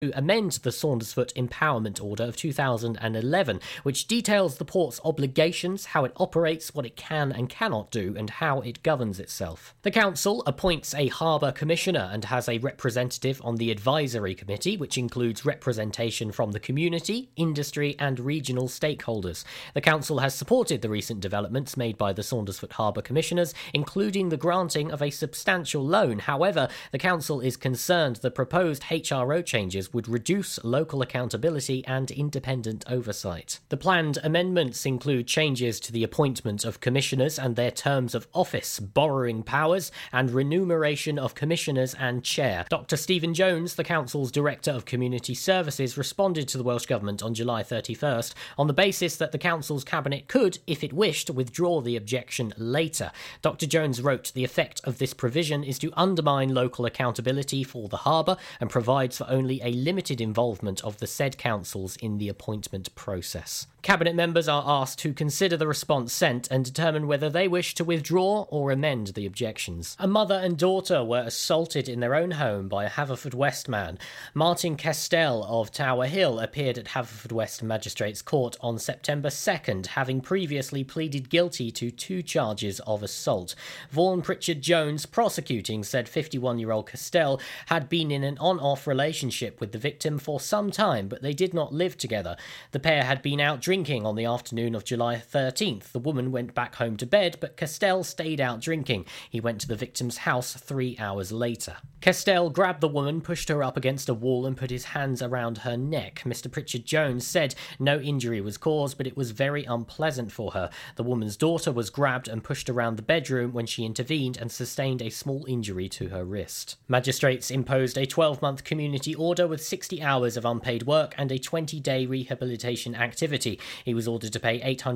to amend the Saundersfoot Empowerment Order of 2011, which details the port's obligations, how it operates, what it can and cannot do, and how it governs itself. The council appoints a harbour commissioner and has a representative on the advisory committee, which includes representation from the community, industry and regional stakeholders. The council has supported the recent developments made by the Saundersfoot Harbour Commissioners, including the granting of a substantial loan. However, the council is concerned the proposed HRO changes would reduce local accountability and independent oversight. The planned amendments include changes to the appointment of commissioners and their terms of office, borrowing powers, and remuneration of commissioners and chair. Dr. Stephen Jones, the council's Director of Community Services, responded to the Welsh Government on July 31st on the basis that the council's cabinet could, if it wished, withdraw the objection later. Dr. Jones wrote, "The effect of this provision is to undermine local accountability for the harbour and provides for only a limited involvement of the said councils in the appointment process." Cabinet members are asked to consider the response sent and determine whether they wish to withdraw or amend the objections. A mother and daughter were assaulted in their own home by a Haverfordwest man. Martin Castell of Tower Hill appeared at Haverfordwest Magistrates Court on September 2nd, having previously pleaded guilty to 2 charges of assault. Vaughan Pritchard Jones, prosecuting, said 51-year-old Castell had been in an on-off relationship with the victim for some time, but they did not live together. The pair had been out drinking on the afternoon of July 13th. The woman went back home to bed, but Castell stayed out drinking. He went to the victim's house 3 hours later. Castell grabbed the woman, pushed her up against a wall and put his hands around her neck. Mr. Pritchard Jones said no injury was caused, but it was very unpleasant for her. The woman's daughter was grabbed and pushed around the bedroom when she intervened and sustained a small injury to her wrist. Magistrates imposed a 12-month community order with 60 hours of unpaid work and a 20-day rehabilitation activity. He was ordered to pay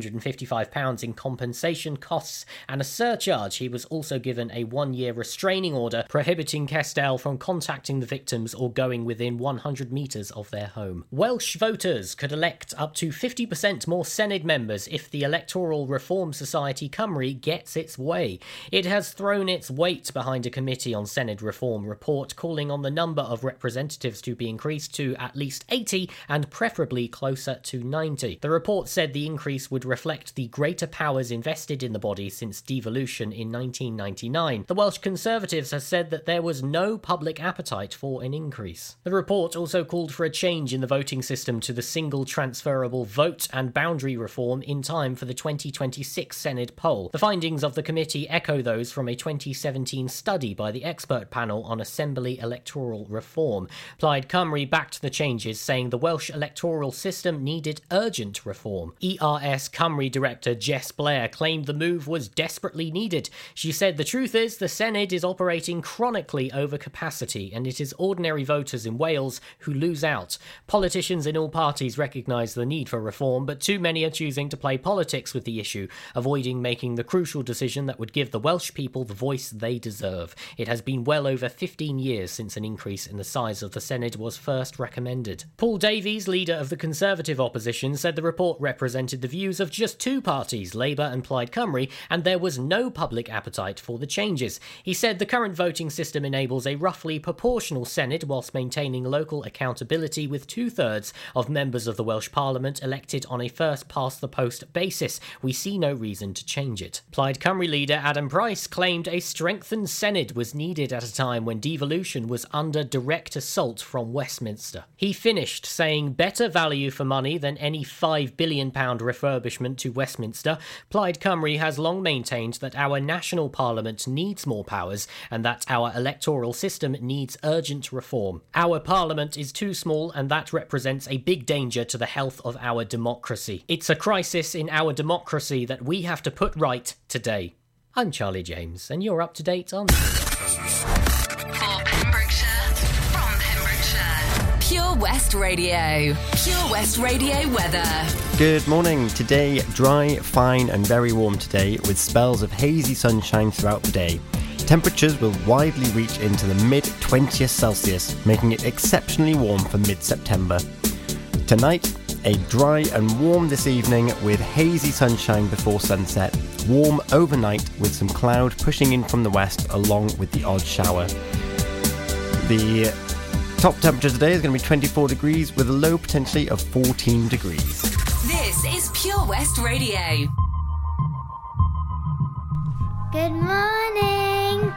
£855 in compensation costs and a surcharge. He was also given a 1-year restraining order prohibiting Castell from contacting the victims or going within 100 metres of their home. Welsh voters could elect up to 50% more Senedd members if the Electoral Reform Society Cymru gets its way. It has thrown its weight behind a Committee on Senedd Reform report calling on the number of representatives to be increased to at least 80 and preferably closer to 90. The report said the increase would reflect the greater powers invested in the body since devolution in 1999. The Welsh Conservatives has said that there was no public appetite for an increase. The report also called for a change in the voting system to the single transferable vote and boundary reform in time for the 2026 Senedd poll. The findings of the committee echo those from a 2017 study by the expert panel on Assembly electoral reform. Plaid Cymru backed the changes, saying the Welsh electoral system needed urgent reform. ERS Cymru director Jess Blair claimed the move was desperately needed. She said the truth is the Senedd is operating chronically over capacity and it is ordinary voters in Wales who lose out. Politicians in all parties recognise the need for reform, but too many are choosing to play politics with the issue, avoiding making the crucial decision that would give the Welsh people the voice they deserve. It has been well over 15 years since an increase in the size of the Senedd was first recommended. Paul Davies, leader of the Conservative opposition, said the report represented the views of just 2 parties, Labour and Plaid Cymru, and there was no public appetite for the changes. He said the current voting system enables a roughly proportional Senedd whilst maintaining local accountability with 2/3 of members of the Welsh Parliament elected on a first-past-the-post basis. We see no reason to change it. Plaid Cymru leader Adam Price claimed a strengthened Senedd was needed at a time when devolution was under direct assault from Westminster. He finished saying better value for money than any £5 billion refurbishment to Westminster. Plaid Cymru has long maintained that our national parliament needs more powers and that our electoral system needs urgent reform. Our parliament is too small and that represents a big danger to the health of our democracy. It's a crisis in our democracy that we have to put right today. I'm Charlie James and you're up to date on... For Pembrokeshire, from Pembrokeshire. Pure West Radio. Pure West Radio weather. Good morning. Today, dry, fine and very warm today with spells of hazy sunshine throughout the day. Temperatures will widely reach into the mid-20s Celsius, making it exceptionally warm for mid-September. Tonight, a dry and warm this evening with hazy sunshine before sunset, warm overnight with some cloud pushing in from the west along with the odd shower. The top temperature today is going to be 24 degrees with a low potentially of 14 degrees. This is Pure West Radio. Good morning.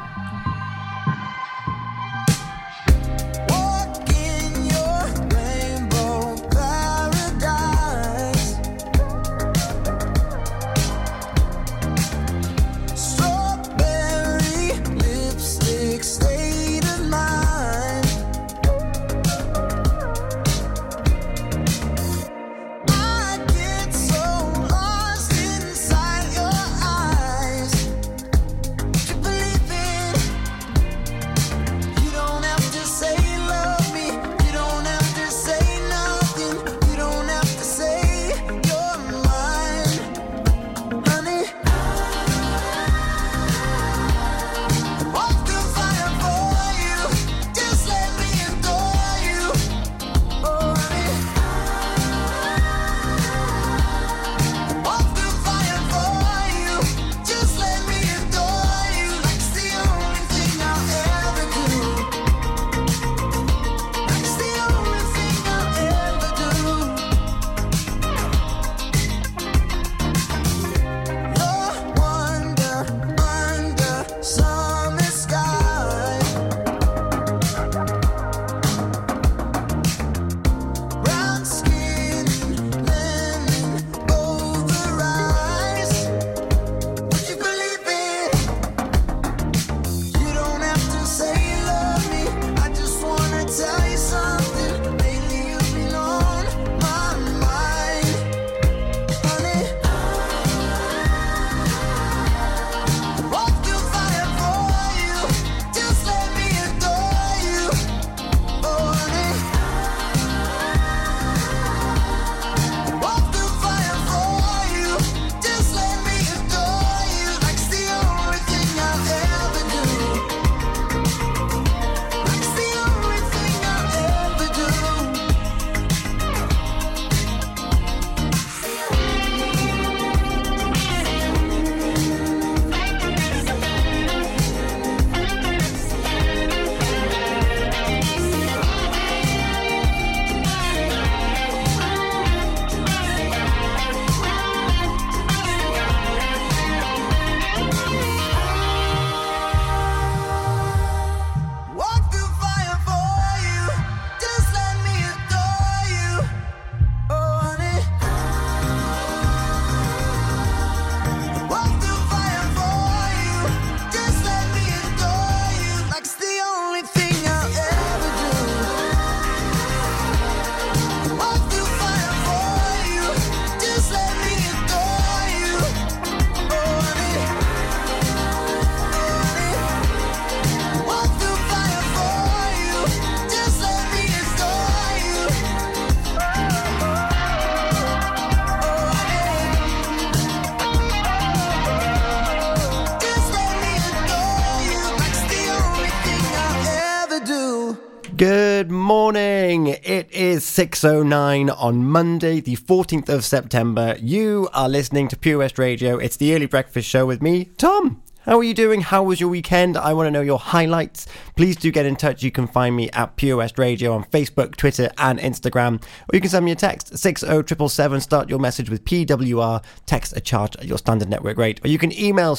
Good morning. It is 6:09 on Monday, the 14th of September. You are listening to Pure West Radio. It's the Early Breakfast Show with me, Tom. How are you doing? How was your weekend? I want to know your highlights. Please do get in touch. You can find me at Pure West Radio on Facebook, Twitter and Instagram. Or you can send me a text, 60777. Start your message with PWR. Text a charge at your standard network rate. Or you can email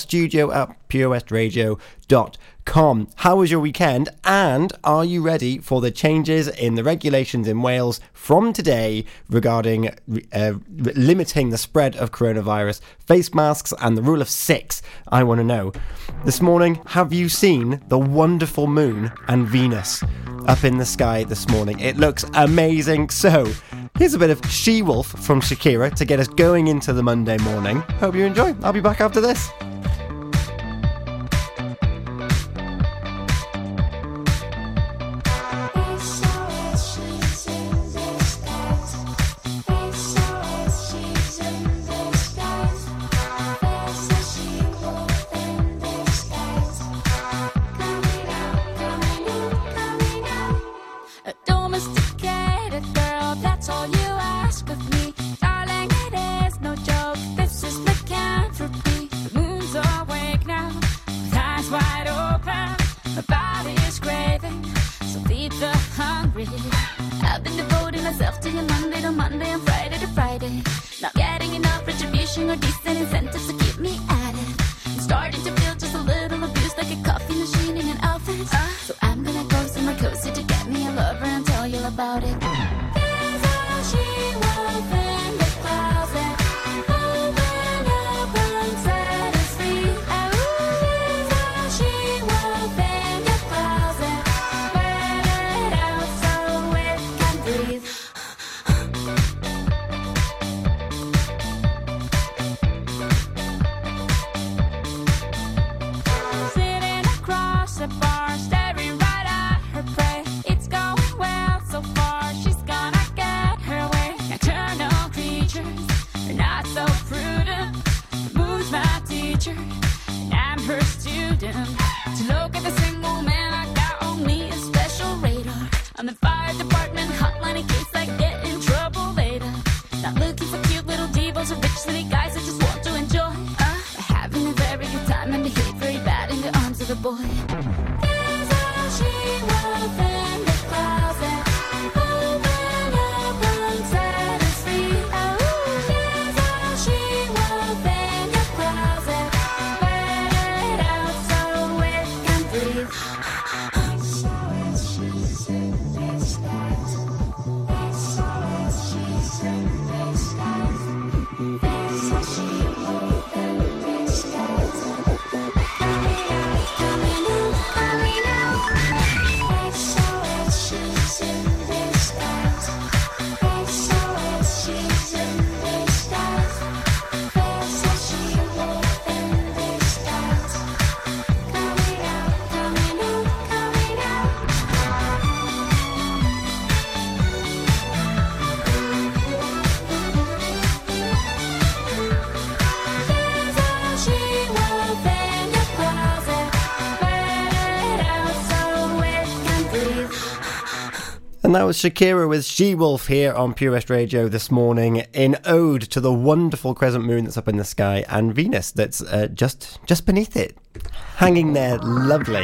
studio@purewestradio.com. How was your weekend? And are you ready for the changes in the regulations in Wales from today regarding limiting the spread of coronavirus, face masks and the rule of 6? I want to know. This morning, have you seen the wonderful moon and Venus up in the sky this morning? It looks amazing. So here's a bit of She-Wolf from Shakira to get us going into the Monday morning. Hope you enjoy. I'll be back after this. myself to you Monday to Monday and Friday to Friday. Not getting enough retribution or decent incentives to keep me at it. I'm starting to feel just a little abused, like a coffee machine in an outfit. So I'm gonna go somewhere cozy to get me a lover and tell you about it. There's all she wolf in the closet. Open up and set us free. There's all she wolf in the closet. Let it out so it can breathe. Sitting across the bar, staring right at her prey. It's going well so far, she's gonna get her way. Nocturnal creatures are not so prudent. The moon's my teacher, and I'm her student. To look at the single man, I got on me a special radar. On the fire department hotline in case I get in trouble later. Not looking for cute little divas or rich city guys that just want to enjoy. But having a very good time and behave very bad in the arms of a boy. There's all she wolf in the closet. Open up and set us free. There's all she wolf in the closet. Let it out so it can breathe. And that was Shakira with She-Wolf here on Pure West Radio this morning in ode to the wonderful crescent moon that's up in the sky and Venus that's just beneath it, hanging there lovely.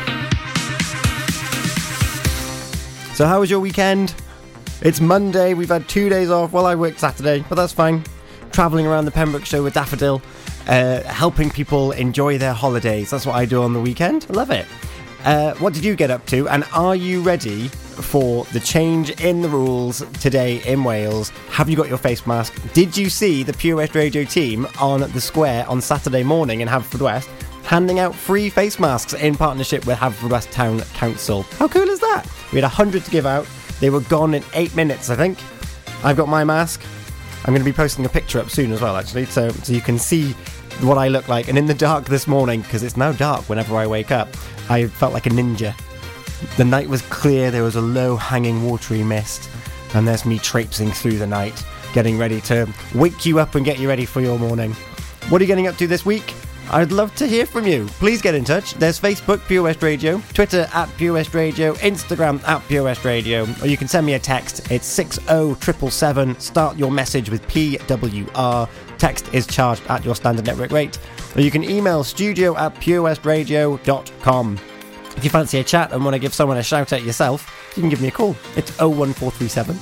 So how was your weekend? It's Monday, we've had 2 days off. Well, I worked Saturday, but that's fine. Travelling around the Pembrokeshire with Daffodil, helping people enjoy their holidays. That's what I do on the weekend. I love it. What did you get up to? And are you ready for the change in the rules today in Wales? Have you got your face mask? Did you see the Pure West Radio team on the square on Saturday morning in Haverfordwest handing out free face masks in partnership with Haverfordwest Town Council? How cool is that? We had 100 to give out. They were gone in 8 minutes, I think. I've got my mask. I'm going to be posting a picture up soon as well, actually, so you can see what I look like. And in the dark this morning, because it's now dark whenever I wake up, I felt like a ninja. The night was clear, there was a low hanging watery mist, and there's me traipsing through the night, getting ready to wake you up and get you ready for your morning. What are you getting up to this week? I'd love to hear from you. Please get in touch. There's Facebook, Pure West Radio, Twitter at Pure West Radio, Instagram at Pure West Radio, or you can send me a text. It's 60777. Start your message with PWR. Text is charged at your standard network rate. Or you can email studio@purewestradio.com. If you fancy a chat and want to give someone a shout out yourself, you can give me a call. It's 01437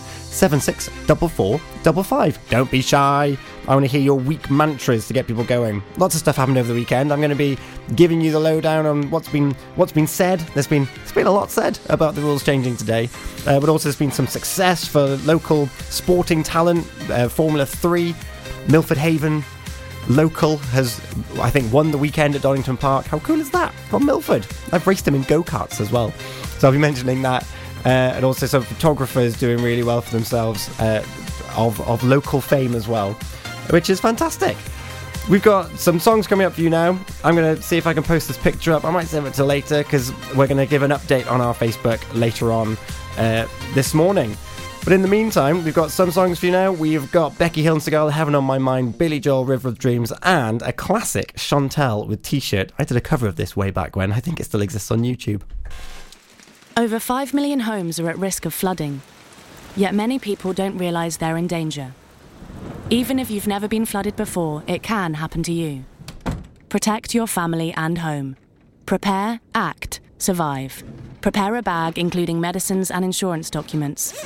764455. Don't be shy. I want to hear your week mantras to get people going. Lots of stuff happened over the weekend. I'm going to be giving you the lowdown on what's been said. There's been a lot said about the rules changing today, but also there's been some success for local sporting talent. Formula 3, Milford Haven local has, I think, won the weekend at Donington Park. How cool is that? From Milford. I've raced him in go-karts as well, so I'll be mentioning that. And also some photographers doing really well for themselves, of local fame as well, which is fantastic. We've got some songs coming up for you now. I'm going to see if I can post this picture up. I might save it till later because we're going to give an update on our Facebook later on this morning. But in the meantime, we've got some songs for you now. We've got Becky Hill and Cigar, Heaven on My Mind, Billy Joel, River of Dreams, and a classic Chantel with T-shirt. I did a cover of this way back when. I think it still exists on YouTube. Over 5 million homes are at risk of flooding, yet many people don't realise they're in danger. Even if you've never been flooded before, it can happen to you. Protect your family and home. Prepare, act, survive. Prepare a bag including medicines and insurance documents.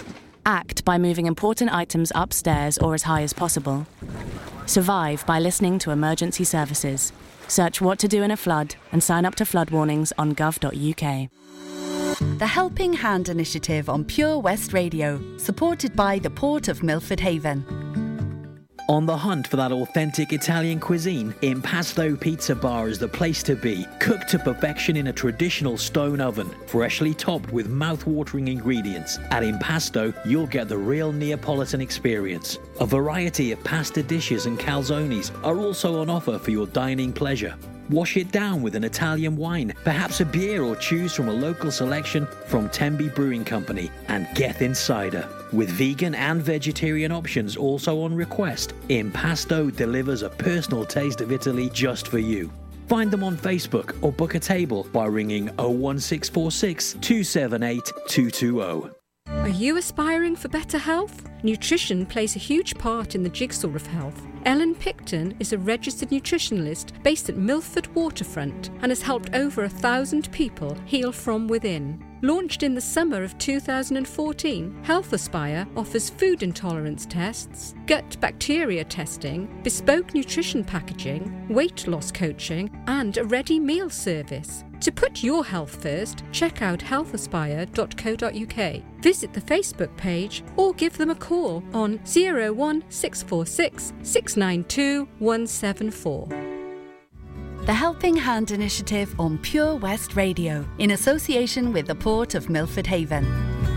Act by moving important items upstairs or as high as possible. Survive by listening to emergency services. Search what to do in a flood and sign up to flood warnings on gov.uk. The Helping Hand initiative on Pure West Radio, supported by the Port of Milford Haven. On the hunt for that authentic Italian cuisine? Impasto Pizza Bar is the place to be. Cooked to perfection in a traditional stone oven, freshly topped with mouth-watering ingredients. At Impasto, you'll get the real Neapolitan experience. A variety of pasta dishes and calzones are also on offer for your dining pleasure. Wash it down with an Italian wine, perhaps a beer, or choose from a local selection from Tembi Brewing Company and Gethin Cider. With vegan and vegetarian options also on request, Impasto delivers a personal taste of Italy just for you. Find them on Facebook or book a table by ringing 01646 278 220. Are you aspiring for better health? Nutrition plays a huge part in the jigsaw of health. Ellen Picton is a registered nutritionalist based at Milford Waterfront and has helped over 1,000 people heal from within. Launched in the summer of 2014, Health Aspire offers food intolerance tests, gut bacteria testing, bespoke nutrition packaging, weight loss coaching, and a ready meal service. To put your health first, check out healthaspire.co.uk. Visit the Facebook page or give them a call on 01646 692 174. The Helping Hand initiative on Pure West Radio, in association with the Port of Milford Haven.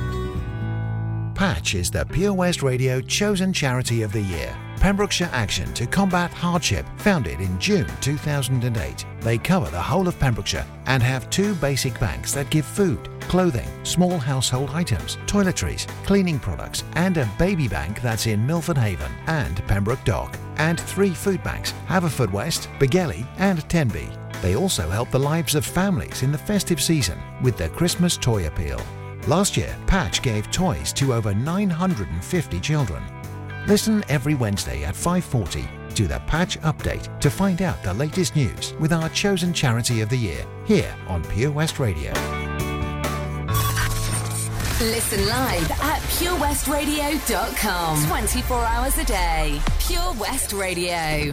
Patch is the Pure West Radio chosen charity of the year. Pembrokeshire Action to Combat Hardship, founded in June 2008. They cover the whole of Pembrokeshire and have 2 basic banks that give food, clothing, small household items, toiletries, cleaning products, and a baby bank that's in Milford Haven and Pembroke Dock, and 3 food banks, Haverfordwest, Begelly and Tenby. They also help the lives of families in the festive season with their Christmas toy appeal. Last year, Patch gave toys to over 950 children. Listen every Wednesday at 5:40 to the Patch Update to find out the latest news with our chosen charity of the year here on Pure West Radio. Listen live at purewestradio.com. 24 hours a day. Pure West Radio.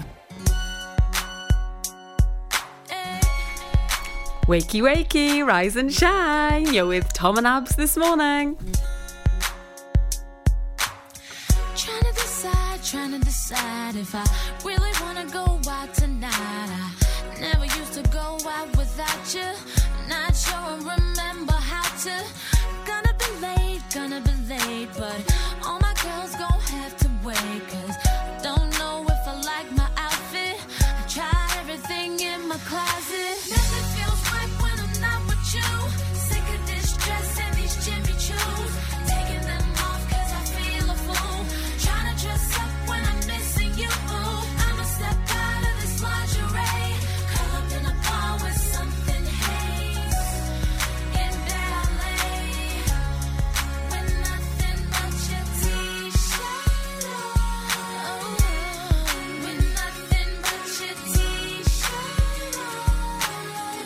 Wakey, wakey, rise and shine. You're with Tom and Abs this morning. Trying to decide if I really want to go out tonight. I never used to go out without you. Not sure I remember how to. Gonna be late, but all my girls gon' have to wait. Cause I don't know if I like my outfit. I tried everything in my closet. Nothing feels right when I'm not with you. Sick of this dress and these Jimmy Choos. Taking them off cause I feel a fool. Trying to dress up when I'm missing you. I'ma step out of this lingerie. Curl up in a bar with something haze. In ballet. With nothing but your t-shirt on. With nothing but your t-shirt on.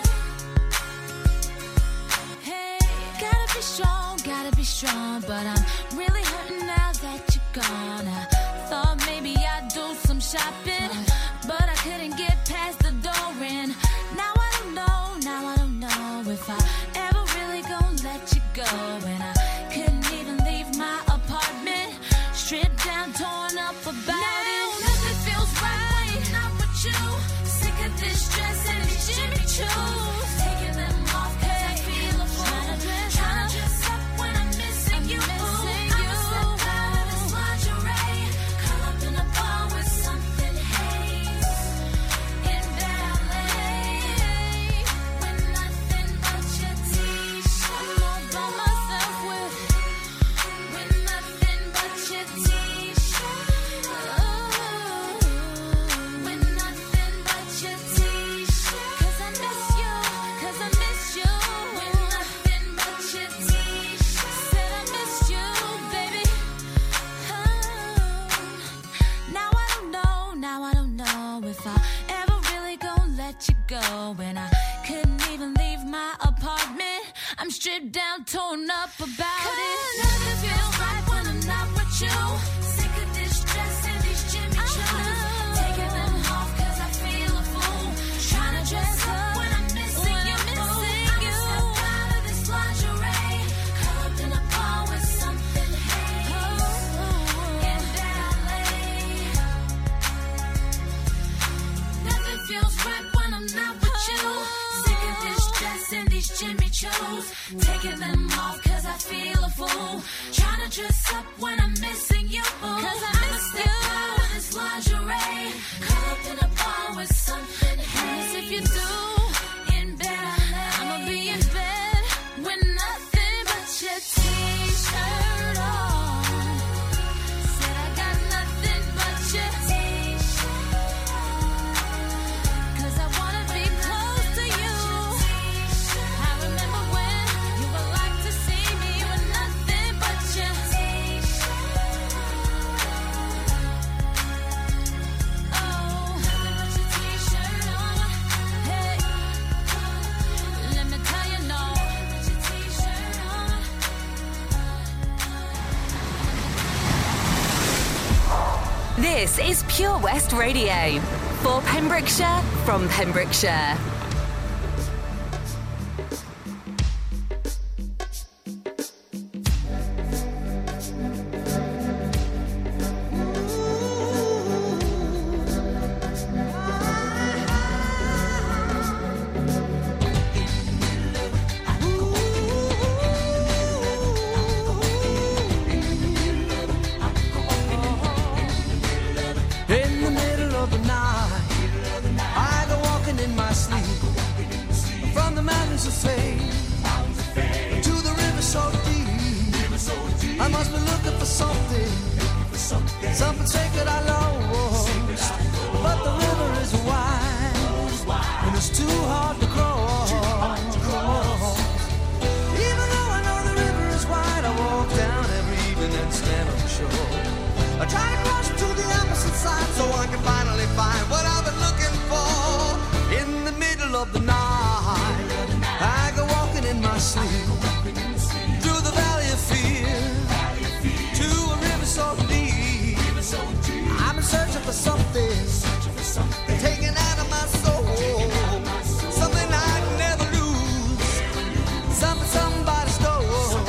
Hey, gotta be strong, but I'm really hurting now that you're gone. I thought maybe I'd do some shopping, but I couldn't get past the door. And now I don't know if I ever really gonna let you go. And I couldn't even leave my apartment, stripped down, torn up about it. Nothing feels right when I'm not with you. Sick of this dress and these Jimmy Choos. Taking them off cause I feel a fool. Trying to dress up when I'm missing you. I'ma step out of this lingerie. Curl up in a bar with something haze. In ballet. With nothing but your t-shirt. I'm all by myself with nothing but your t-shirt. With nothing but your t-shirt. Cause I miss you. With nothing but your t-shirt. Said I miss you, baby. Now I don't know if I ever really gonna let you go. And I couldn't even leave my apartment. I'm stripped down, torn up about it. Nothing feels right when I'm with you. Sick of this dress and these Jimmy Choos. Taking them off cause I feel a fool. Trying to dress up when I'm missing you. I'ma step out of this lingerie. Curl up in a bar with something haze. In ballet. Nothing feels right when I'm not with you. Sick of this dress and these Jimmy Choos. Taking them off cause I feel a fool. Trying to dress up when I'm missing you. Cause I miss you. Out of this lingerie. Curl up in a bar with something haze. If you do, in bed, I'ma be in bed with nothing but your t-shirt on. Said I got nothing but your t-shirt on. Cause I wanna be close to you. I remember when you would like to see me with nothing but your t-shirt on. Oh, nothing but your t-shirt on. Hey, let me tell you no. Put your t-shirt on. This is Pure West Radio. For Pembrokeshire, from Pembrokeshire. In the middle of the night, I go walking in my sleep. From the mountains of fame to the river so deep. I must be looking for something sacred I lost. But the river is wide and it's too hard to cross. Even though I know the river is wide, I walk down every evening and stand on the shore. I try to cross to the opposite side so I can finally find what I've been looking for. In the middle of the night, I go walking in my sleep through the valley of fear to a river so deep. I'm in searching for something taken out of my soul, something I'd never lose, something somebody stole.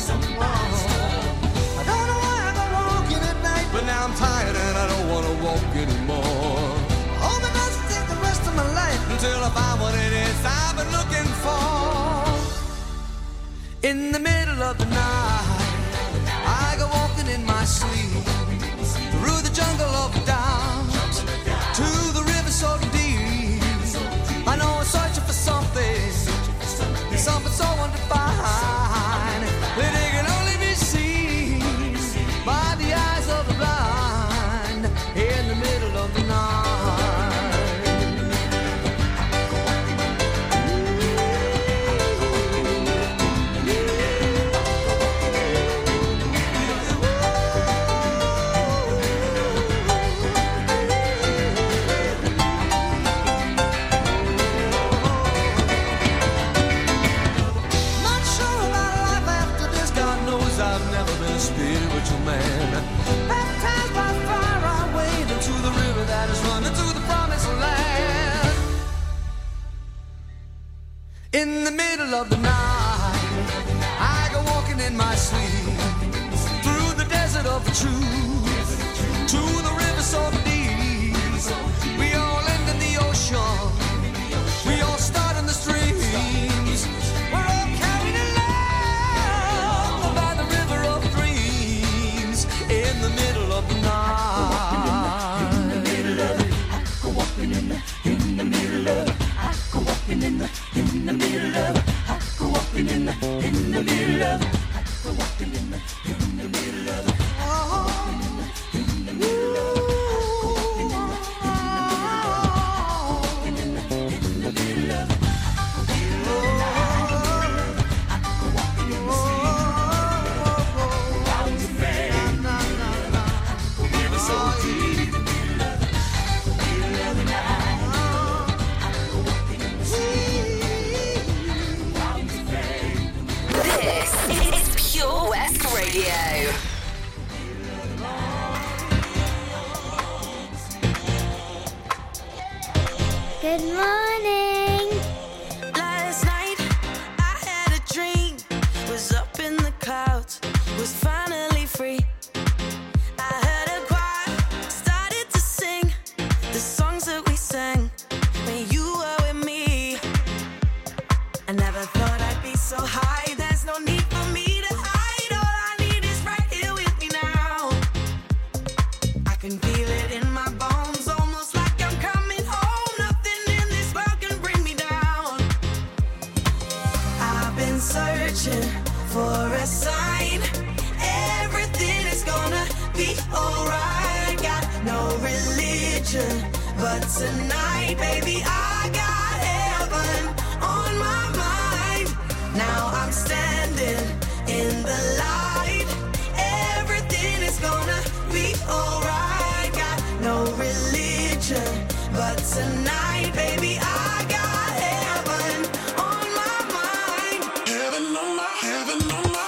I don't know why I go walking at night, but now I'm tired and I don't want to walk anymore. Hope it doesn't take the rest of my life until I find what it is I've been looking for. In the middle of the night, I go walking in my sleep through the jungle of doubt to the river so deep. I know I'm searching for something so undefined that it can only be seen by the eyes of the blind. In the middle of the night. Not sure about life after this. God knows I've never been a spiritual man. Baptized by fire, I wade into the river that is running to the promised land. In the middle of the night, I go walking in my sleep through the desert of the truth to the river so deep. We all end in the ocean. We all start in the streams. We're all carried along by the river of dreams. In the middle of the night. In the middle of it, I go walking in the middle of it. I go walking in the middle of it. I go walking in the middle of it. I go walking in the middle of it. This is Good morning. Last night I had a dream. Was up in the clouds. Was finally free. I heard a choir started to sing the songs that we sang when you were with me. I never thought I'd be so high. There's no need for me to hide. All I need is right here with me now. I can feel it in my bones, almost like I'm coming home. Nothing in this world can bring me down. I've been searching for a sign. Everything is gonna be alright. Got no religion, but tonight, baby, I got heaven on my mind. Now I'm standing in the light. Everything is gonna be alright. Got no religion, but tonight, baby, I got heaven on my mind. Heaven on my, heaven on my.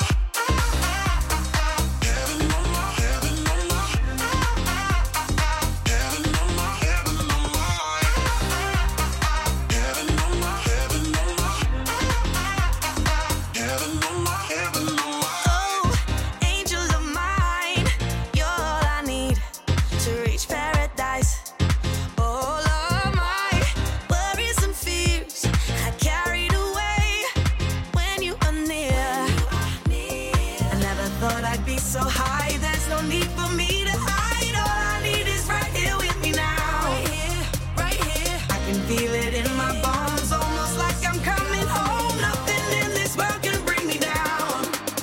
So high, there's no need for me to hide. All I need is right here with me now. Right here. I can feel it in my bones, almost like I'm coming home. Nothing in this world can bring me down.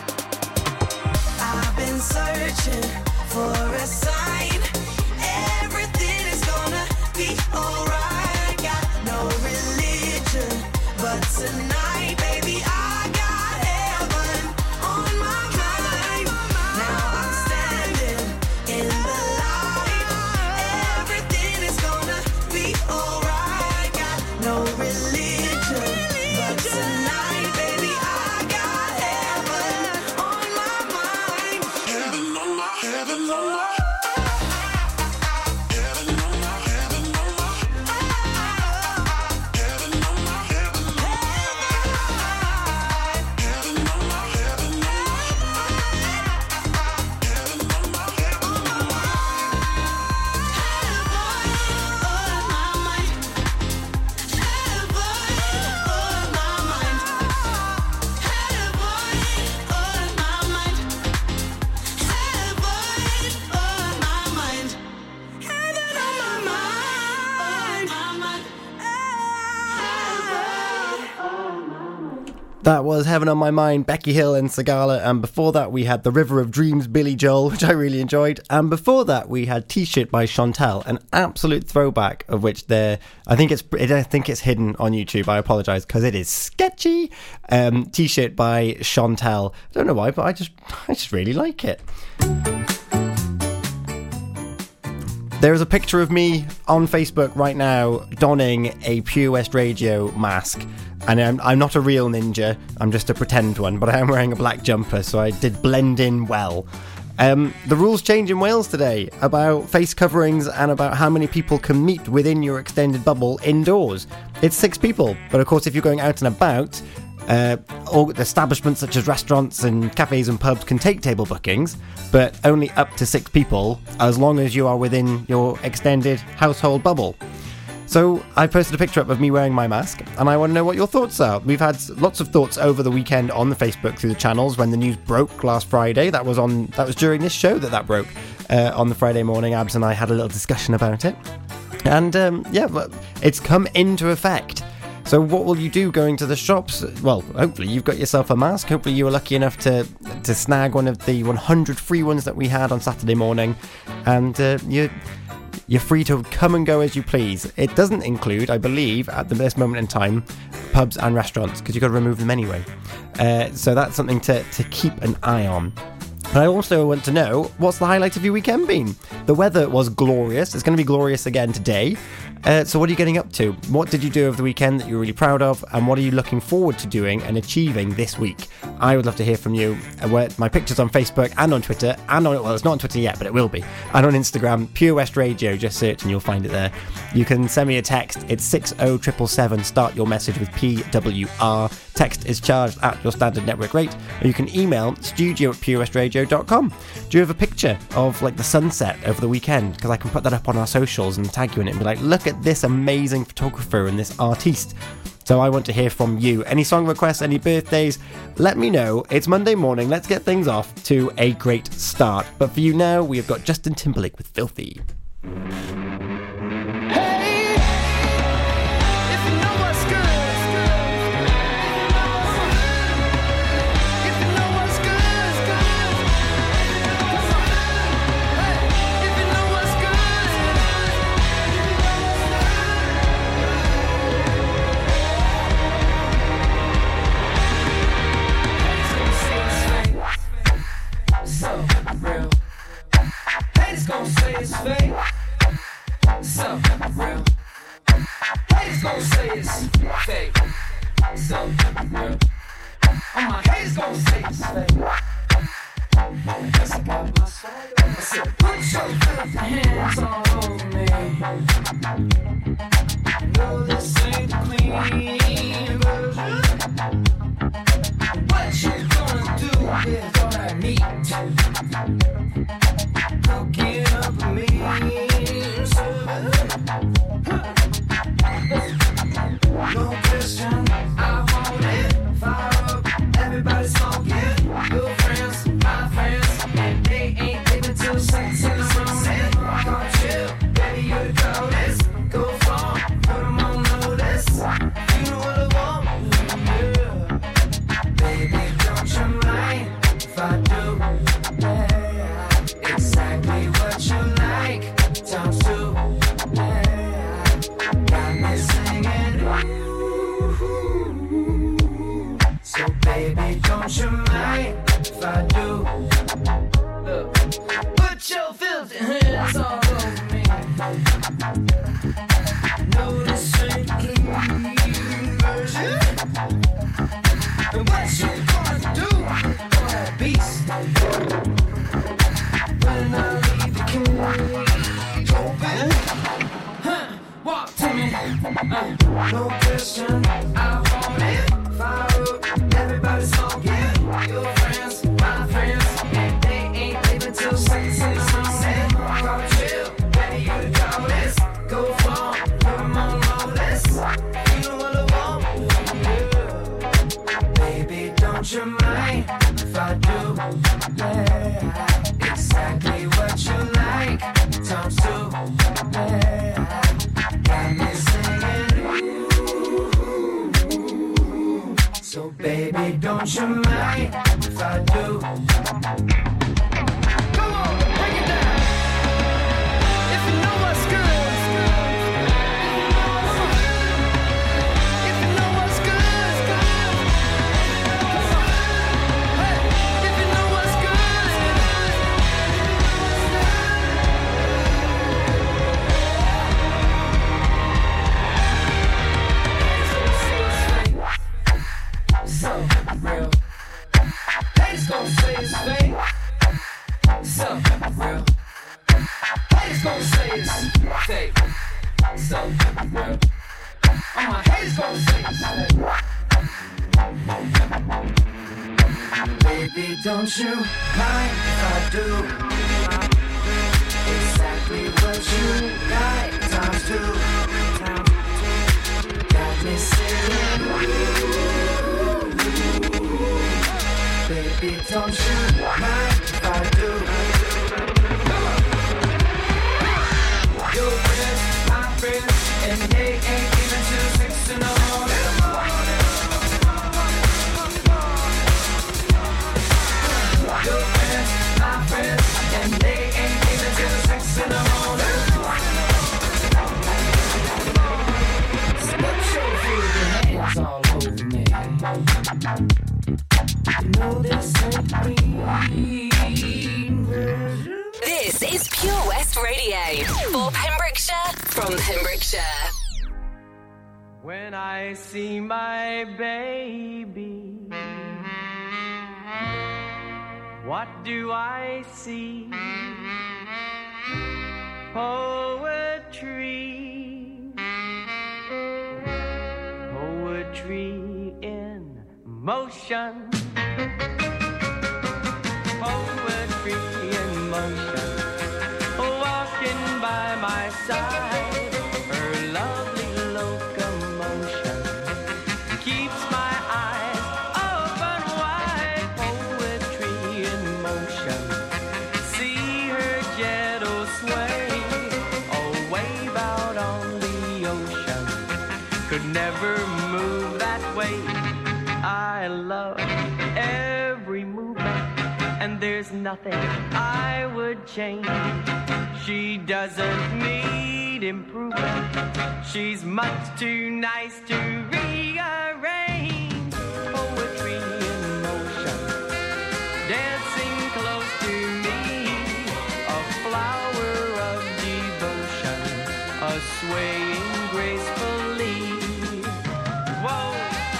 I've been searching for a sign. Everything is gonna be alright. Got no religion, but tonight, baby, I got heaven on my mind. Now I'm standing in the light. Everything is gonna be alright. Got no religion, but tonight, baby, I got heaven on my mind. Heaven on my, heaven on my. That was Heaven on My Mind, Becky Hill and Sagala, and before that we had The River of Dreams, Billy Joel, which I really enjoyed, and before that we had T-Shirt by Chantel, an absolute throwback of which I think it's hidden on YouTube. I apologise because it is sketchy. T-Shirt by Chantel. I don't know why, but I just really like it. There is a picture of me on Facebook right now donning a Pure West Radio mask. And I'm not a real ninja, I'm just a pretend one, but I am wearing a black jumper, so I did blend in well. The rules change in Wales today about face coverings and about how many people can meet within your extended bubble indoors. It's 6 people, but of course if you're going out and about, establishments such as restaurants and cafes and pubs can take table bookings, but only up to 6 people as long as you are within your extended household bubble. So I posted a picture up of me wearing my mask, and I want to know what your thoughts are. We've had lots of thoughts over the weekend on the Facebook through the channels when the news broke last Friday. That was during this show that broke on the Friday morning. Abs and I had a little discussion about it, and it's come into effect. So what will you do going to the shops? Well, hopefully you've got yourself a mask. Hopefully you were lucky enough to snag one of the 100 free ones that we had on Saturday morning, and you're free to come and go as you please. It doesn't include, I believe, at this moment in time, pubs and restaurants, because you've got to remove them anyway. So that's something to keep an eye on. But I also want to know, what's the highlight of your weekend been? The weather was glorious. It's going to be glorious again today. So what are you getting up to? What did you do over the weekend that you're really proud of? And what are you looking forward to doing and achieving this week? I would love to hear from you. My picture's on Facebook and on Twitter. And on, well, it's not on Twitter yet, but it will be. And on Instagram, Pure West Radio. Just search and you'll find it there. You can send me a text. It's 60777. Start your message with PWR. Text is charged at your standard network rate. Or you can email studio@purewestradio.com. Do you have a picture of like the sunset over the weekend? Because I can put that up on our socials and tag you in it and be like, look at this amazing photographer and this artiste. So I want to hear from you. Any song requests, any birthdays, let me know. It's Monday morning. Let's get things off to a great start. But for you now, we have got Justin Timberlake with Filthy. Gon' say it's fake, so real. Haters gon' say it's fake, so real. All my haters gon' say it's fake. Yes, I got my swag. I said, put your filthy hands all over me. No, this ain't the clean version. What you gonna do with all that meat? Cooking up a mean service. No question, I want it. Fire up, everybody smoking. Your friends, my friends, they ain't living till 6 in the morning. Come chill, baby, you the coldest. Go far, put them on notice. You know what I want, yeah. Baby, don't you mind if I do? Exactly what you like, times 2, yeah. Got me singing, ooh. So baby, don't you mind if I do? Look, put your filthy hands all over me. No, this ain't clean version. And what you gonna do for that beast? When I leave the cage open, walk to me, no question, I want it. Fire up, everybody smoking. Your friends, my friends, they ain't leaving till 6 in the morning. Come chill, baby, you the coldest. Go far, put them on notice. You know what I want, yeah. Baby, don't you mind if I do, yeah. Exactly what you like, times 2, yeah. Got me singing, ooh. So baby, don't you mind if I do? Come on, bring it down. If you know what's good, if you know what's good, hey, if you know what's good. So real. Haters gon' say it's fake. So real. Haters gon' say it's fake. So real. All my haters gon' say it's fake. Baby, don't you mind if I do? Exactly what you like, times 2. Got me singing, baby, don't you mind if I do? Your friends, my friends, and they ain't even till 6 in the morning. Your friends, my friends, and they ain't even till 6 in the morning. So put your filthy hands all over me. You know this ain't me. This is Pure West Radio for Pembrokeshire, from Pembrokeshire. When I see my baby, what do I see? Poetry, poetry in motion, poetry in motion, walking by my side, her lovely locomotion keeps my eyes open wide, poetry in motion, see her gentle sway, a wave out on the ocean, could never move that way. I love every movement, and there's nothing I would change. She doesn't need improvement, she's much too nice to rearrange. Poetry in motion, dancing close to me, a flower of devotion, a swaying gracefully. Whoa.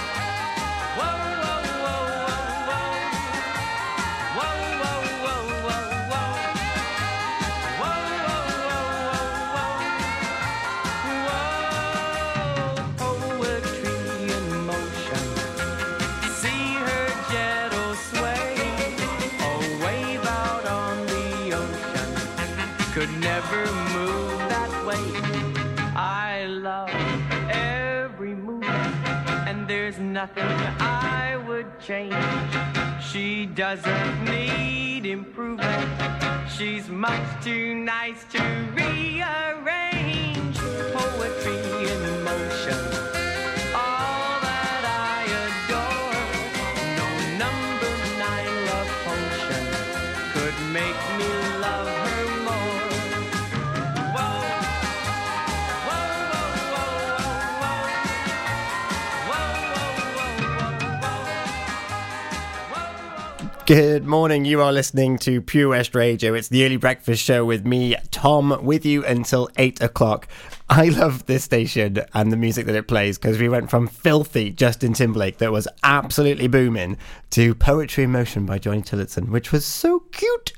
Could never move that way. I love every movement, and there's nothing I would change. She doesn't need improvement, she's much too nice to rearrange. Poetry in motion, all that I adore. No number 9 love potion could make me love her more. Good morning, you are listening to Pure West Radio. It's the early breakfast show with me, Tom, with you until 8 o'clock. I love this station and the music that it plays because we went from filthy Justin Timberlake that was absolutely booming to Poetry in Motion by Johnny Tillotson, which was so cute.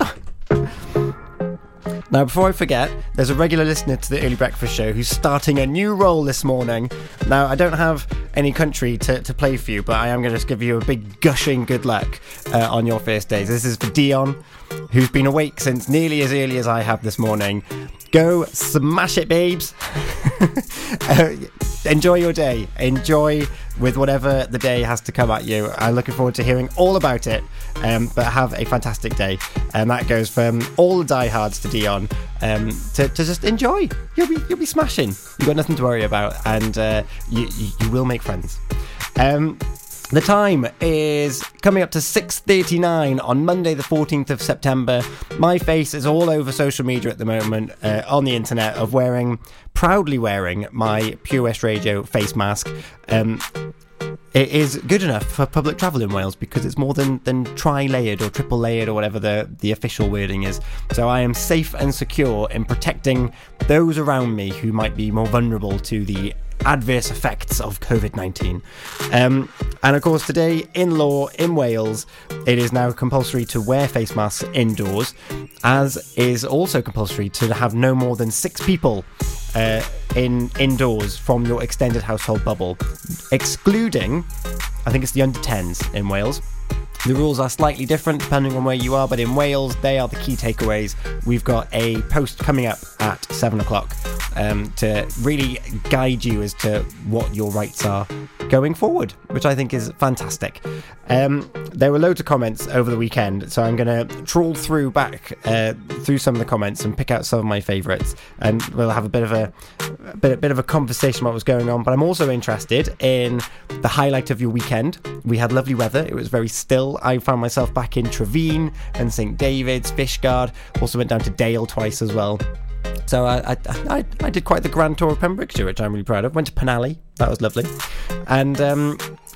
Now, before I forget, there's a regular listener to the Early Breakfast Show who's starting a new role this morning. Now, I don't have any country to play for you, but I am going to just give you a big gushing good luck on your first days. This is for Dion, who's been awake since nearly as early as I have this morning. Go smash it, babes. Enjoy your day. Enjoy with whatever the day has to come at you. I'm looking forward to hearing all about it. But have a fantastic day. And that goes from all the diehards to Dion. To just enjoy. You'll be smashing. You've got nothing to worry about, and you will make friends. The time is coming up to 6:39 on Monday the 14th of September. My face is all over social media at the moment, on the internet, of proudly wearing my Pure West Radio face mask. It is good enough for public travel in Wales because it's more than tri-layered or triple layered or whatever the official wording is. So I am safe and secure in protecting those around me who might be more vulnerable to the adverse effects of COVID-19. And of course, today in law in Wales, it is now compulsory to wear face masks indoors, as is also compulsory to have no more than 6 people indoors from your extended household bubble, excluding, I think it's the under 10s in Wales. The rules are slightly different depending on where you are, but in Wales, they are the key takeaways. We've got a post coming up at 7 o'clock to really guide you as to what your rights are going forward, which I think is fantastic. There were loads of comments over the weekend, so I'm going to trawl through some of the comments and pick out some of my favourites, and we'll have a bit of a conversation about what's going on. But I'm also interested in the highlight of your weekend. We had lovely weather. It was very still. I found myself back in Trevine and St David's, Fishguard. Also went down to Dale twice as well. So I did quite the grand tour of Pembrokeshire, which I'm really proud of. Went to Penally. That was lovely. And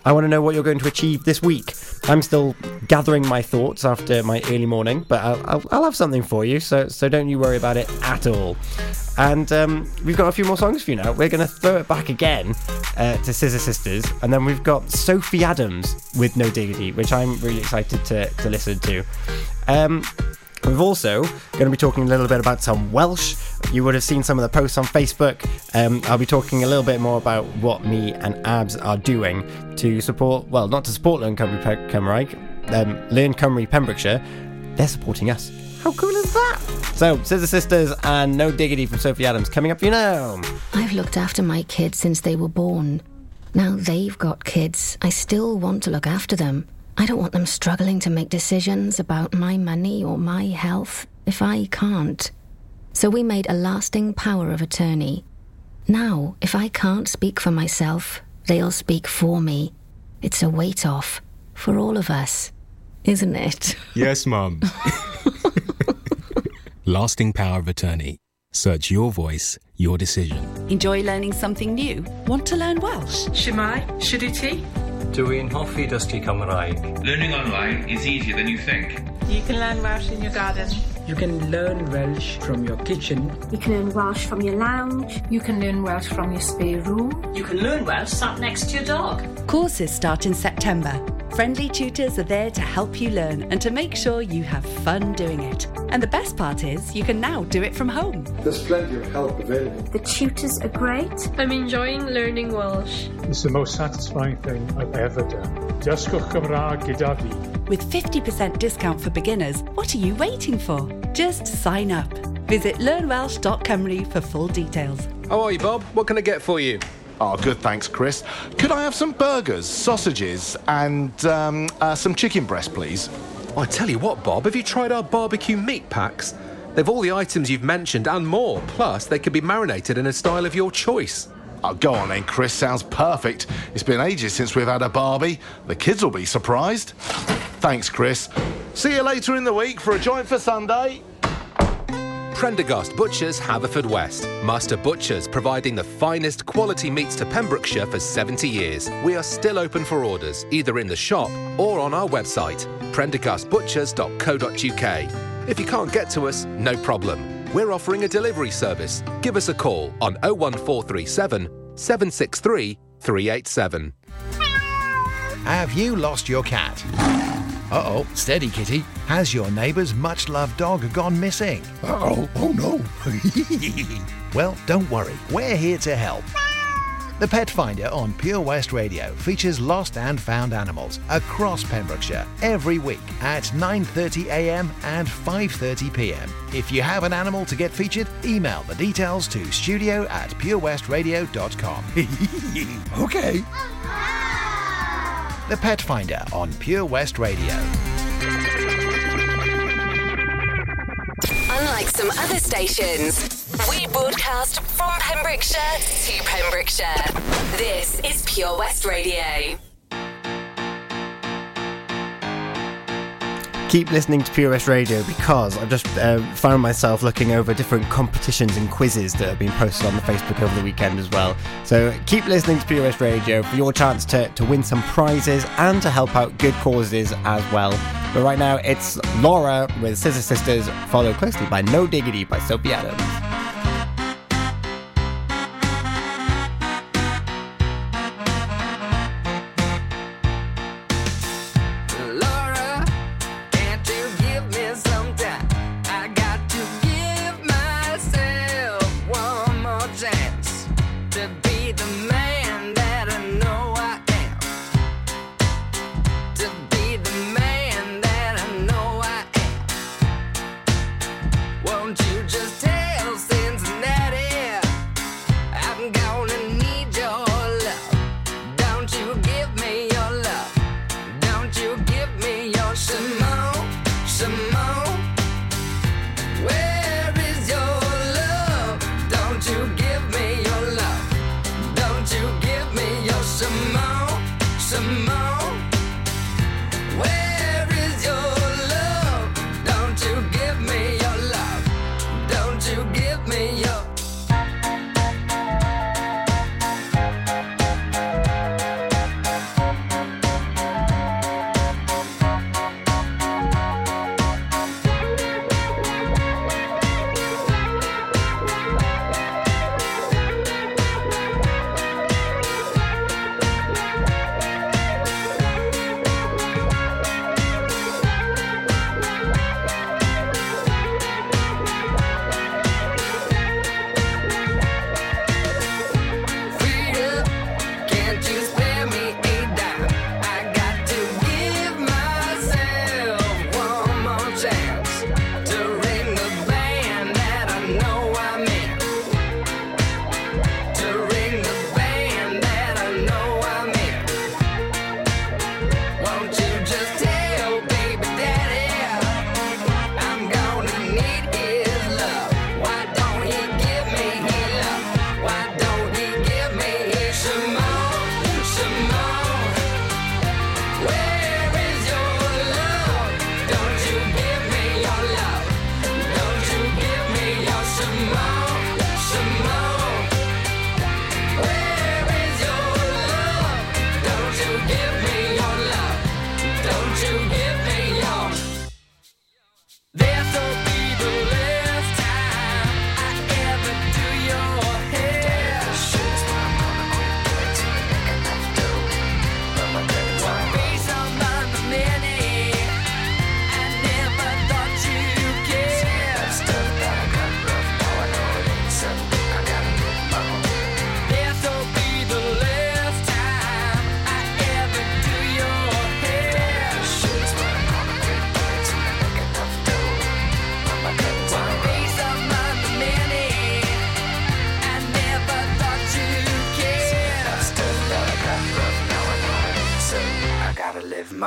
I want to know what you're going to achieve this week. I'm still gathering my thoughts after my early morning, but I'll have something for you, so don't you worry about it at all. And we've got a few more songs for you now. We're going to throw it back again to Scissor Sisters, and then we've got Sophie Adams with No Diggity, which I'm really excited to listen to. We've also going to be talking a little bit about some Welsh. You would have seen some of the posts on Facebook. I'll be talking a little bit more about what me and Abs are doing to support, well, not to support Learn Cymru Cymraeg, Learn Cymru Pembrokeshire. They're supporting us. How cool is that? So, Scissor Sisters and No Diggity from Sophie Adams coming up, you know. I've looked after my kids since they were born. Now they've got kids. I still want to look after them. I don't want them struggling to make decisions about my money or my health if I can't. So we made a lasting power of attorney. Now, if I can't speak for myself, they'll speak for me. It's a weight off for all of us, isn't it? Yes, Mum. Lasting power of attorney. Search your voice, your decision. Enjoy learning something new? Want to learn Welsh? Shemai, Shuduti? Dwi'n hoffi dysgu Cymraeg. Learning online is easier than you think. You can learn Welsh in your garden. You can learn Welsh from your kitchen. You can learn Welsh from your lounge. You can learn Welsh from your spare room. You can learn Welsh sat next to your dog. Courses start in September. Friendly tutors are there to help you learn and to make sure you have fun doing it. And the best part is, you can now do it from home. There's plenty of help available. The tutors are great. I'm enjoying learning Welsh. It's the most satisfying thing I've ever done. Dysgwch Cymraeg gyda fi. With 50% discount for beginners, what are you waiting for? Just sign up. Visit learnwelsh.cymru for full details. How are you, Bob? What can I get for you? Oh, good, thanks, Chris. Could I have some burgers, sausages, and some chicken breast, please? Oh, I tell you what, Bob, have you tried our barbecue meat packs? They've all the items you've mentioned and more. Plus, they can be marinated in a style of your choice. Oh, go on then, Chris. Sounds perfect. It's been ages since we've had a barbie. The kids will be surprised. Thanks, Chris. See you later in the week for a joint for Sunday. Prendergast Butchers, Haverfordwest. Master Butchers, providing the finest quality meats to Pembrokeshire for 70 years. We are still open for orders, either in the shop or on our website, prendergastbutchers.co.uk. If you can't get to us, no problem. We're offering a delivery service. Give us a call on 01437 763 387. Have you lost your cat? Uh-oh, steady, kitty. Has your neighbour's much-loved dog gone missing? Uh-oh, oh no. Well, don't worry, we're here to help. The Pet Finder on Pure West Radio features lost and found animals across Pembrokeshire every week at 9:30 a.m. and 5:30 p.m. If you have an animal to get featured, email the details to studio@purewestradio.com. Okay. The Pet Finder on Pure West Radio. Unlike some other stations, we broadcast from Pembrokeshire to Pembrokeshire. This is Pure West Radio. Keep listening to Pure West Radio because I've just found myself looking over different competitions and quizzes that have been posted on the Facebook over the weekend as well. So keep listening to Pure West Radio for your chance to win some prizes and to help out good causes as well. But right now it's Laura with Scissor Sisters, followed closely by No Diggity by Sophie Adams.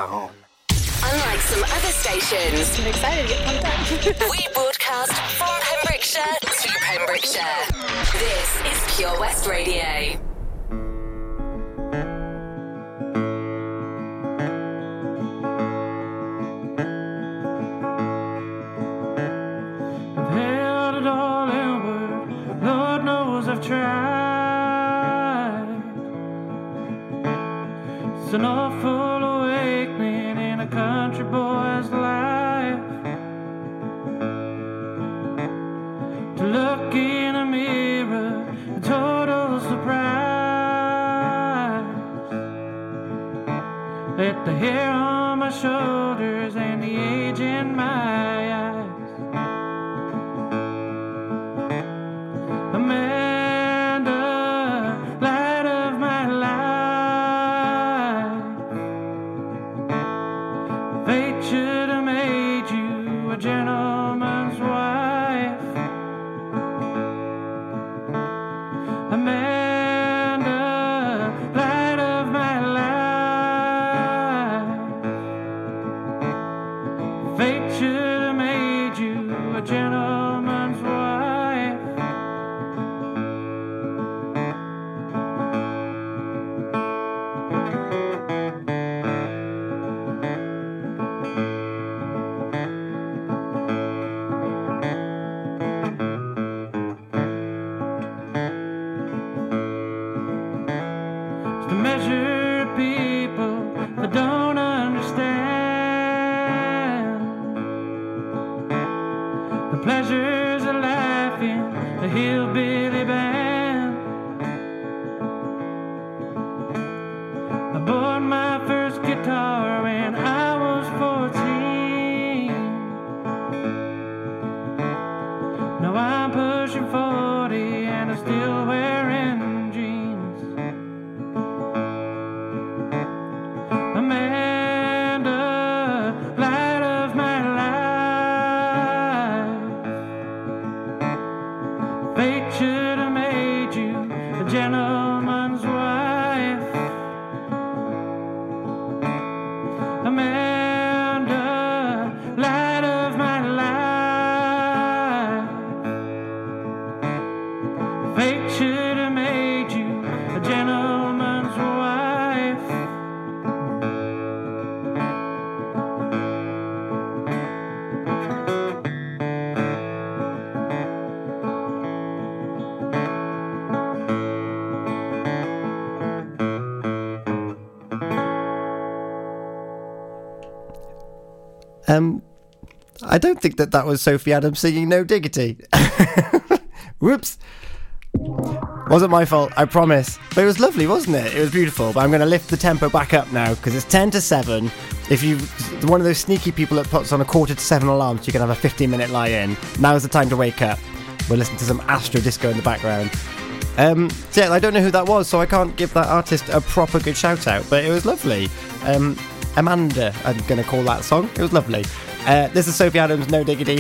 home. Unlike some other stations, I'm excited to get pumped up. we broadcast from Pembrokeshire to Pembrokeshire. This is Pure West Radio. I've held it all inward, Lord knows I've tried. It's an awful awakening in a country boy's life, to look in a mirror, a total surprise, at the hair on my shoulders and the age in my eyes. Amanda, light of my life, fate should have made you a gentleman's wife. Amanda, light of my life, fate should have made you a gentleman's wife. To measure people that don't understand the pleasures of life in the hillbilly band. I bought my first guitar when I was 14. Now I'm pushing 40 and I'm still wearing jeans. Amanda, light of my life, fate should have made you a gentleman's wife. Amanda, light of my life, fate should have made you a gentleman's wife. I don't think that was Sophie Adams singing No Diggity. Whoops. Wasn't my fault, I promise. But it was lovely, wasn't it? It was beautiful. But I'm going to lift the tempo back up now because it's 10 to 7. If you're one of those sneaky people that puts on a 6:45 alarm so you can have a 15-minute lie-in, now's the time to wake up. We're listening to some Astro Disco in the background. So yeah, I don't know who that was, so I can't give that artist a proper good shout-out. But it was lovely. Amanda, I'm going to call that song. It was lovely. This is Sophie Adams, No Diggity.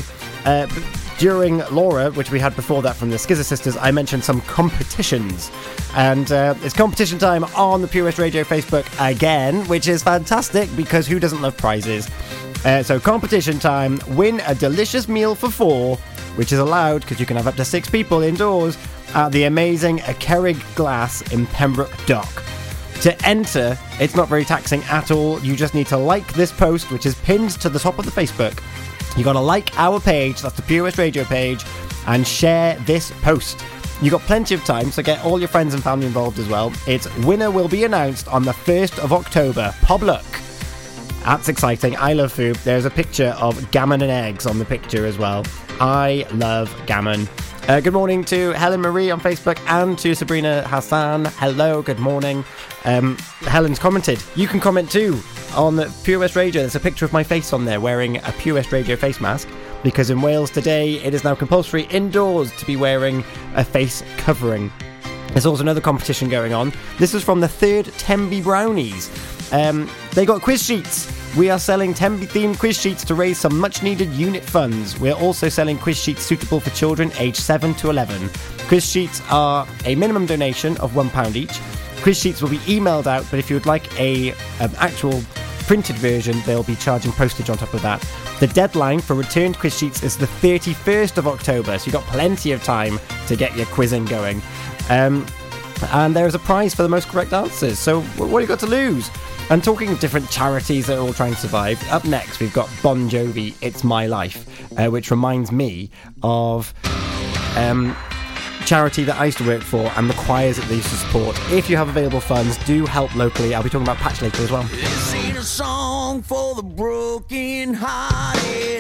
During Laura, which we had before that from the Skizzer Sisters, I mentioned some competitions. And it's competition time on the Pure West Radio Facebook again, which is fantastic because who doesn't love prizes? So competition time, win a delicious meal for 4, which is allowed because you can have up to 6 people indoors at the amazing Cerrig Glass in Pembroke Dock. To enter, it's not very taxing at all. You just need to like this post, which is pinned to the top of the Facebook. You got to like our page, that's the Pure West Radio page, and share this post. You got plenty of time, so get all your friends and family involved as well. Its winner will be announced on the 1st of October. Pobluck. That's exciting. I love food. There's a picture of gammon and eggs on the picture as well. I love gammon. Good morning to Helen Marie on Facebook and to Sabrina Hassan. Hello, good morning. Helen's commented. You can comment too on the Pure West Radio. There's a picture of my face on there wearing a Pure West Radio face mask because in Wales today it is now compulsory indoors to be wearing a face covering. There's also another competition going on. This is from the 3rd Tenby Brownies. They got quiz sheets. We are selling Tenby-themed quiz sheets to raise some much-needed unit funds. We're also selling quiz sheets suitable for children aged 7 to 11. Quiz sheets are a minimum donation of £1 each. Quiz sheets will be emailed out, but if you would like a actual printed version, they'll be charging postage on top of that. The deadline for returned quiz sheets is the 31st of October, so you've got plenty of time to get your quizzing going. And there is a prize for the most correct answers, so what have you got to lose? And talking of different charities that are all trying to survive, up next we've got Bon Jovi, It's My Life, which reminds me of charity that I used to work for and the choirs that they used to support. If you have available funds, do help locally. I'll be talking about Patch later as well. This ain't a song for the broken hearted.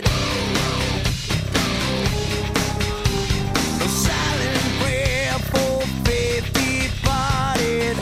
A silent prayer for faith departed.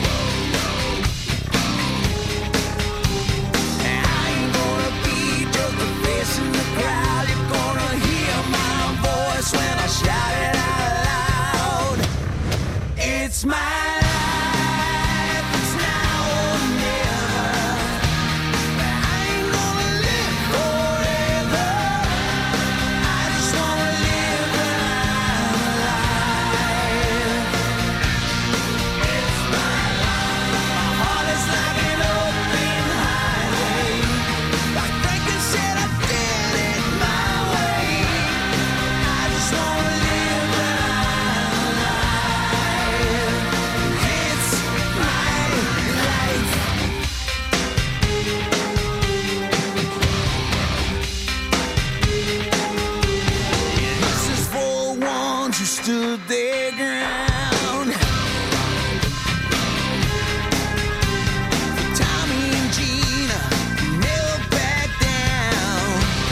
I ain't gonna be just a face in the crowd. You're gonna hear my voice when I shout it out loud. It's my life, it's now or never. I ain't gonna live forever. I just wanna live when I'm alive. It's my life. My heart is like an open highway. Like Franklin said, I did it my way. I just wanna live when I'm alive. It's my life. This is for the ones who stood their ground. For Tommy and Gina, who never backed down.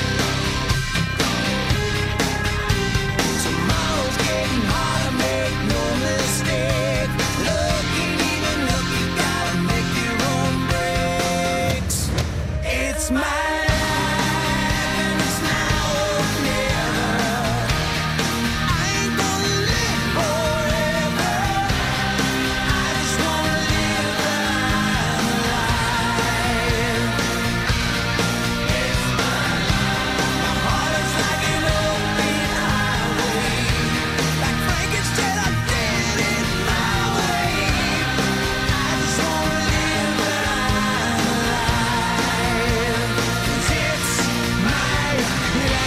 Tomorrow's getting harder, make no mistake. Look, ain't even look, you gotta make your own breaks. It's my life, and it's now or never. I ain't gonna live forever. I just wanna live when I'm alive. It's my life. My heart is like an open highway. Like Frankenstein, I did it my way. I just wanna live when I'm alive. 'Cause it's my life.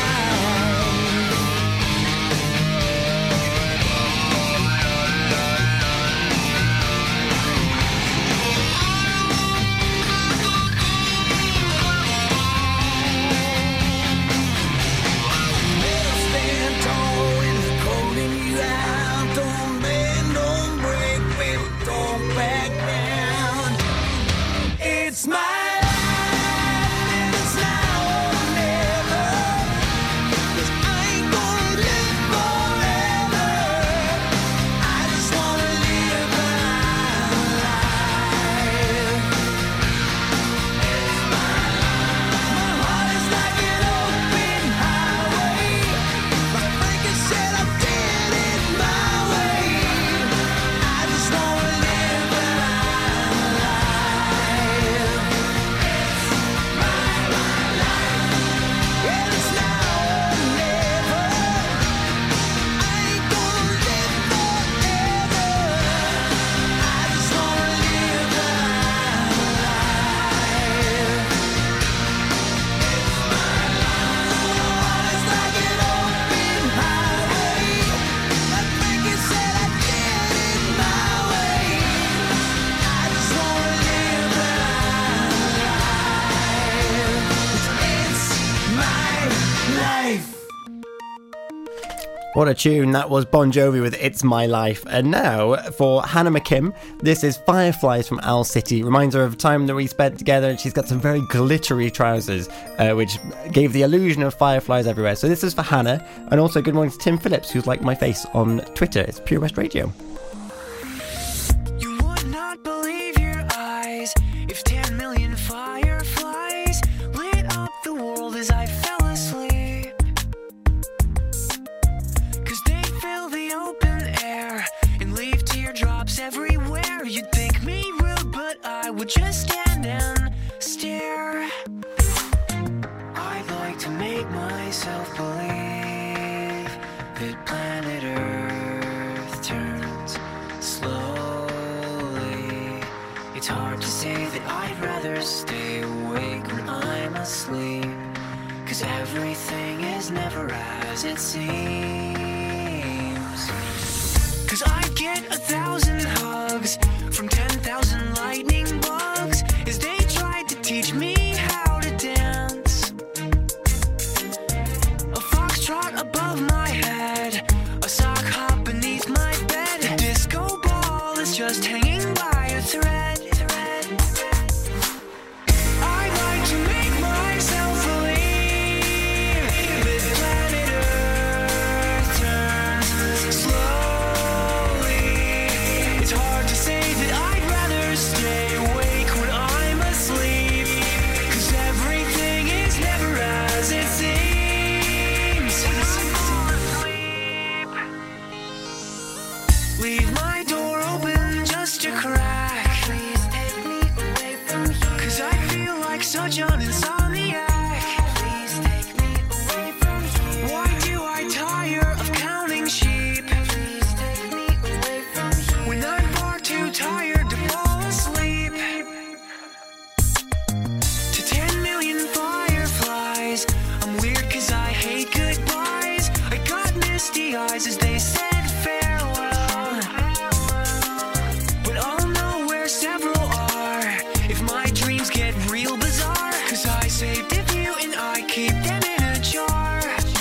Never stand tall when they're calling you out. Don't bend, don't break, baby, don't back down. It's my life, and it's now or never. 'Cause I ain't gonna live forever. I just wanna live when I'm alive. It's my life. My heart is like an open highway. Like Franklin said, I did it my way. I just wanna live when I'm alive. It's my life, and it's now or never. I ain't gonna live forever. I just wanna live when I'm alive. It's my life. My heart is like an open highway. Like Franklin said, I did it my way. I just wanna live when I'm alive. It's my life. What a tune. That was Bon Jovi with It's My Life. And now for Hannah McKim, this is Fireflies from Owl City. Reminds her of a time that we spent together, and she's got some very glittery trousers, which gave the illusion of fireflies everywhere. So this is for Hannah. And also good morning to Tim Phillips, who's like my face on Twitter. It's Pure West Radio. You would not believe your eyes if 10 million fireflies lit up the world as I fell asleep. 'Cause they fill the open air and leave teardrops everywhere. You'd think me rude, but I would just stand and stare. I'd like to make myself believe that planet Earth turns slowly. It's hard to say that I'd rather stay awake when asleep. 'Cause everything is never as it seems. 'Cause I get 1,000 hugs from 10,000 lightning bugs as they tried to teach me how to dance. A foxtrot above my head, a sock hop beneath my bed. A disco ball is just hanging by a thread. I like to make myself believe that planet Earth turns slowly. It's hard to say that I'd rather stay awake when I'm asleep. 'Cause everything is never as it seems. Leave my door open just a crack. Please take me away from here. 'Cause I feel like such an insomniac. Please take me away from here. Why do I tire of counting sheep? Please take me away from here. When I'm far too tired to fall asleep. To 10 million fireflies, I'm weird 'cause I hate goodbyes. I got misty eyes as they said farewell. But I'll know where several are if my dreams get real bizarre. 'Cause I saved a few and I keep them in a jar.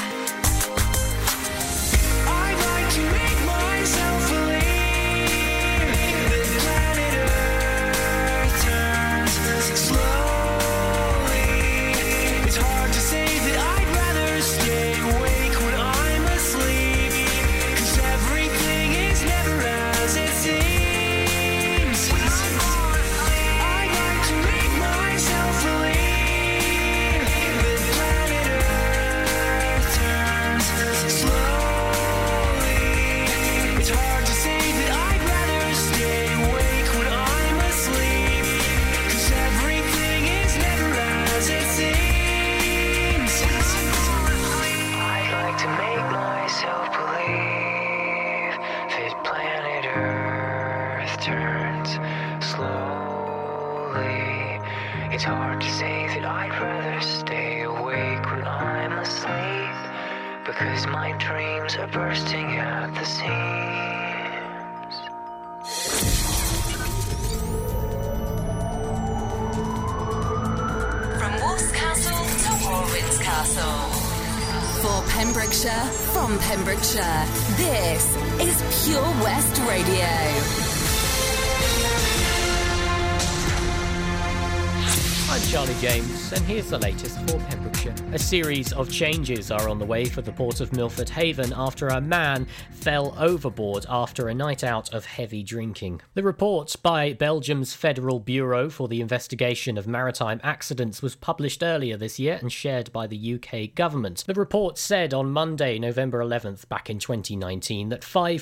I'd like to make myself believe that planet Earth turns slowly. It's hard to say that I'd rather stay awake when I'm asleep. 'Cause everything is never as it seems. I'd like to make myself believe that planet Earth turns slowly. It's hard to say that I'd rather stay awake when I'm asleep. 'Cause everything is never as it seems. I'd like to make myself believe that planet Earth turns slowly. It's hard to say that I'd rather stay awake when I'm asleep. Because my dreams are bursting at the seams. From Wolf's Castle to Warwin's Castle. For Pembrokeshire, from Pembrokeshire, this is Pure West Radio. I'm Charlie James, and here's the latest for Pembrokeshire. A series of changes are on the way for the Port of Milford Haven after a man fell overboard after a night out of heavy drinking. The report by Belgium's Federal Bureau for the Investigation of Maritime Accidents was published earlier this year and shared by the UK government. The report said on Monday, November 11th, back in 2019, that 5